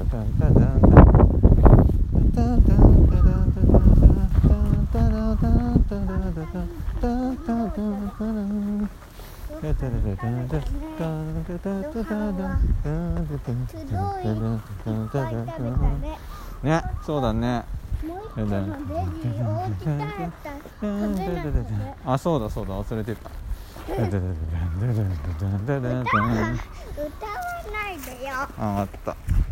ね、そうだね。あ、そうだそうだ、忘れてた。 歌わないでよ。 あ、あった。